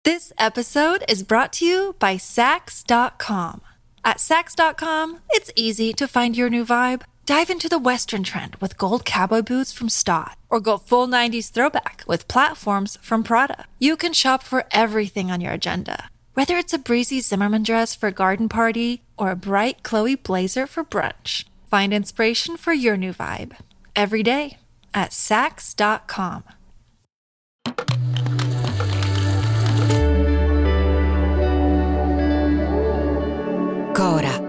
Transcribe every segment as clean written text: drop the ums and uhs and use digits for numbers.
This episode is brought to you by Saks.com. At Saks.com, it's easy to find your new vibe. Dive into the Western trend with gold cowboy boots from Staud, or go full 90s throwback with platforms from Prada. You can shop for everything on your agenda, whether it's a breezy Zimmermann dress for a garden party or a bright Chloe blazer for brunch. Find inspiration for your new vibe every day at Saks.com. Cora.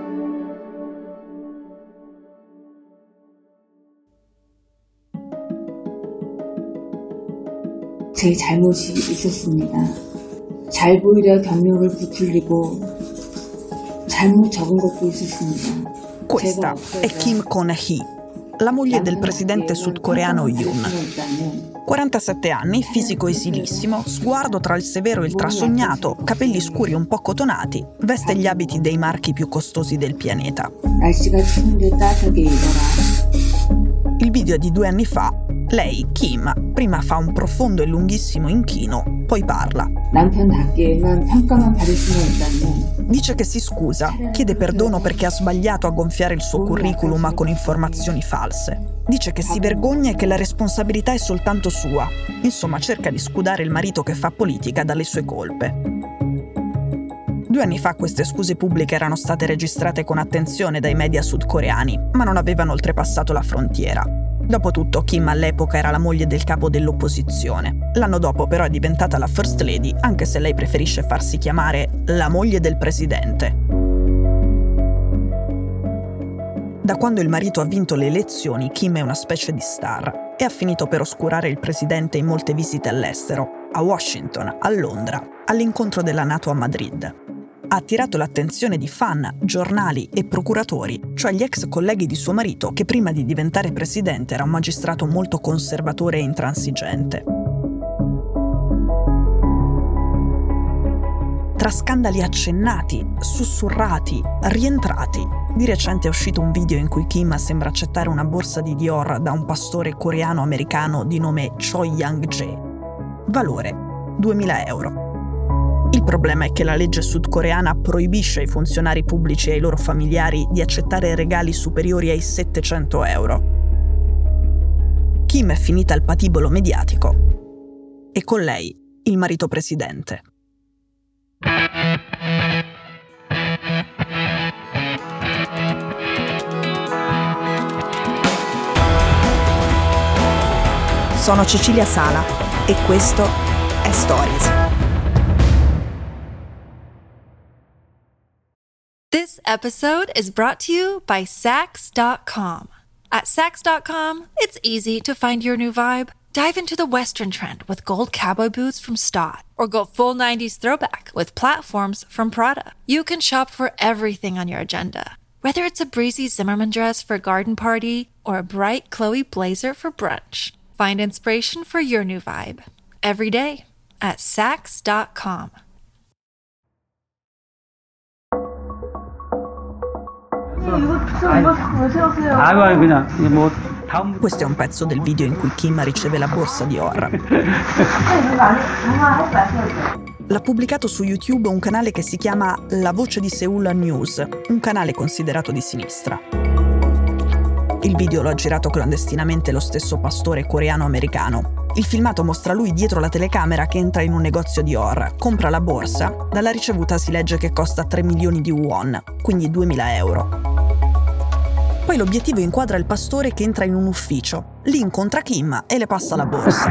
제 잘못이 있었습니다. 잘 보이려 경력을 부풀리고 잘못 적은 것도 있었습니다. Questa è Kim Kon-hee, la moglie del presidente sudcoreano Yoon. 47 anni, fisico esilissimo, sguardo tra il severo e il trasognato, capelli scuri un po' cotonati, veste gli abiti dei marchi più costosi del pianeta. 날씨가 추운데 따뜻하게 입어라. Il video è di 2 anni fa. Lei, Kim, prima fa un profondo e lunghissimo inchino, poi parla. 남편답게만 평가만 받을 수는 있다면 Dice che si scusa, chiede perdono perché ha sbagliato a gonfiare il suo curriculum con informazioni false. Dice che si vergogna e che la responsabilità è soltanto sua. Insomma, cerca di scudare il marito che fa politica dalle sue colpe. 2 anni fa queste scuse pubbliche erano state registrate con attenzione dai media sudcoreani, ma non avevano oltrepassato la frontiera. Dopotutto, Kim all'epoca era la moglie del capo dell'opposizione. L'anno dopo però è diventata la First Lady, anche se lei preferisce farsi chiamare la moglie del presidente. Da quando il marito ha vinto le elezioni, Kim è una specie di star e ha finito per oscurare il presidente in molte visite all'estero, a Washington, a Londra, all'incontro della NATO a Madrid. Ha attirato l'attenzione di fan, giornali e procuratori, cioè gli ex colleghi di suo marito che prima di diventare presidente era un magistrato molto conservatore e intransigente. Tra scandali accennati, sussurrati, rientrati, di recente è uscito un video in cui Kim sembra accettare una borsa di Dior da un pastore coreano-americano di nome Choi Young-jae. Valore: 2.000 euro. Il problema è che la legge sudcoreana proibisce ai funzionari pubblici e ai loro familiari di accettare regali superiori ai 700 euro. Kim è finita al patibolo mediatico e con lei il marito presidente. Sono Cecilia Sala e questo è Stories. This episode is brought to you by Saks.com. At Saks.com, it's easy to find your new vibe. Dive into the Western trend with gold cowboy boots from Staud, or go full 90s throwback with platforms from Prada. You can shop for everything on your agenda, whether it's a breezy Zimmermann dress for a garden party or a bright Chloe blazer for brunch. Find inspiration for your new vibe every day at Saks.com. Questo è un pezzo del video in cui Kim riceve la borsa Dior. L'ha pubblicato su YouTube un canale che si chiama La Voce di Seoul News, un canale considerato di sinistra. Il video lo ha girato clandestinamente lo stesso pastore coreano-americano. Il filmato mostra lui dietro la telecamera che entra in un negozio Dior, compra la borsa, dalla ricevuta si legge che costa 3 milioni di won, quindi 2.000 euro. Poi l'obiettivo inquadra il pastore che entra in un ufficio. Lì incontra Kim e le passa la borsa.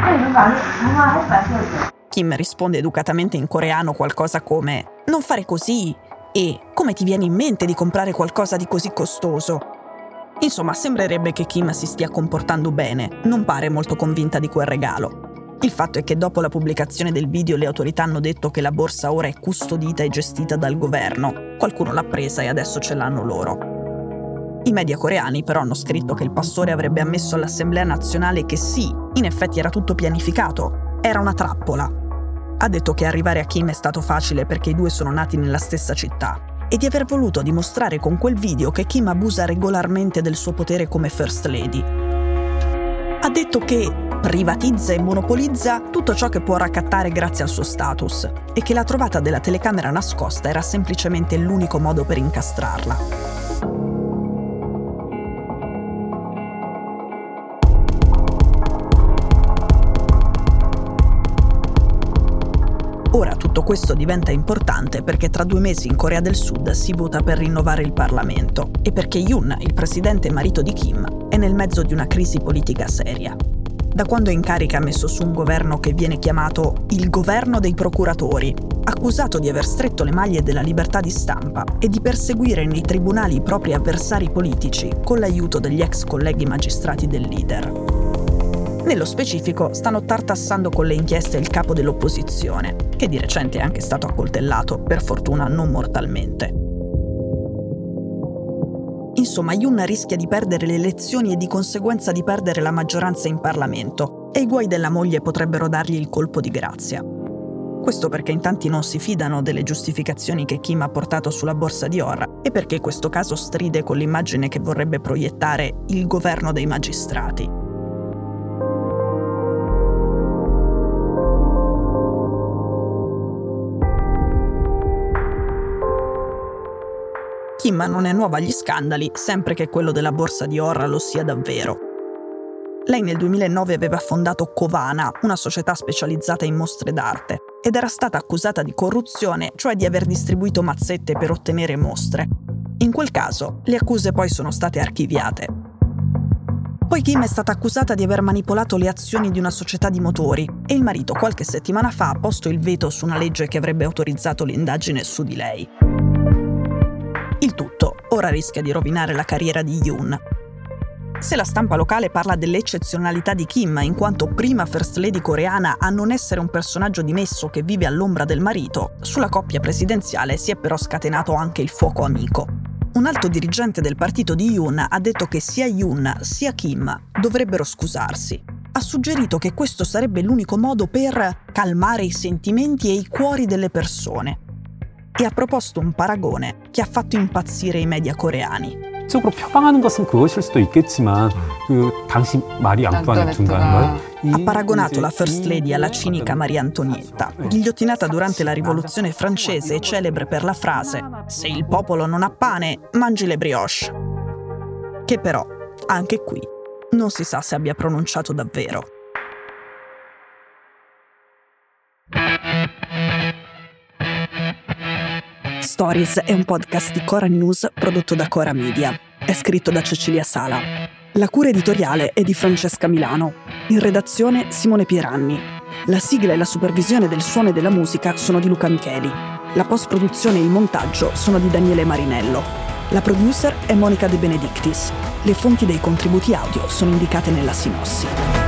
Kim risponde educatamente in coreano qualcosa come «Non fare così» e «Come ti viene in mente di comprare qualcosa di così costoso?» Insomma, sembrerebbe che Kim si stia comportando bene, non pare molto convinta di quel regalo. Il fatto è che dopo la pubblicazione del video le autorità hanno detto che la borsa ora è custodita e gestita dal governo. Qualcuno l'ha presa e adesso ce l'hanno loro. I media coreani però hanno scritto che il pastore avrebbe ammesso all'Assemblea nazionale che sì, in effetti era tutto pianificato, era una trappola. Ha detto che arrivare a Kim è stato facile perché i due sono nati nella stessa città e di aver voluto dimostrare con quel video che Kim abusa regolarmente del suo potere come First Lady. ha detto che privatizza e monopolizza tutto ciò che può raccattare grazie al suo status e che la trovata della telecamera nascosta era semplicemente l'unico modo per incastrarla. Ora tutto questo diventa importante perché tra 2 mesi in Corea del Sud si vota per rinnovare il Parlamento e perché Yoon, il presidente e marito di Kim, è nel mezzo di una crisi politica seria. Da quando in carica ha messo su un governo che viene chiamato il governo dei procuratori, accusato di aver stretto le maglie della libertà di stampa e di perseguire nei tribunali i propri avversari politici con l'aiuto degli ex colleghi magistrati del leader. Nello specifico stanno tartassando con le inchieste il capo dell'opposizione, che di recente è anche stato accoltellato, per fortuna non mortalmente. Insomma, Yoon rischia di perdere le elezioni e di conseguenza di perdere la maggioranza in Parlamento, e i guai della moglie potrebbero dargli il colpo di grazia. Questo perché in tanti non si fidano delle giustificazioni che Kim ha portato sulla borsa di Ora e perché questo caso stride con l'immagine che vorrebbe proiettare il governo dei magistrati. Kim non è nuova agli scandali, sempre che quello della borsa di Ora lo sia davvero. Lei nel 2009 aveva fondato Covana, una società specializzata in mostre d'arte, ed era stata accusata di corruzione, cioè di aver distribuito mazzette per ottenere mostre. In quel caso, le accuse poi sono state archiviate. Poi Kim è stata accusata di aver manipolato le azioni di una società di motori e il marito qualche settimana fa ha posto il veto su una legge che avrebbe autorizzato l'indagine su di lei. Il tutto ora rischia di rovinare la carriera di Yoon. Se la stampa locale parla dell'eccezionalità di Kim in quanto prima First Lady coreana a non essere un personaggio dimesso che vive all'ombra del marito, sulla coppia presidenziale si è però scatenato anche il fuoco amico. Un alto dirigente del partito di Yoon ha detto che sia Yoon sia Kim dovrebbero scusarsi. Ha suggerito che questo sarebbe l'unico modo per calmare i sentimenti e i cuori delle persone. E ha proposto un paragone che ha fatto impazzire i media coreani. 적으로 표방하는 것은 그것일 수도 있겠지만 그 당시 마리 앙투아네트인가 Ha paragonato la First Lady alla cinica Maria Antonietta, ghigliottinata durante la Rivoluzione francese e celebre per la frase «Se il popolo non ha pane, mangi le brioche». Che però, anche qui, non si sa se abbia pronunciato davvero. Stories è un podcast di Cora News prodotto da Cora Media. È scritto da Cecilia Sala. La cura editoriale è di Francesca Milano. In redazione Simone Pieranni. La sigla e la supervisione del suono e della musica sono di Luca Micheli. La post-produzione e il montaggio sono di Daniele Marinello. La producer è Monica De Benedictis. Le fonti dei contributi audio sono indicate nella sinossi.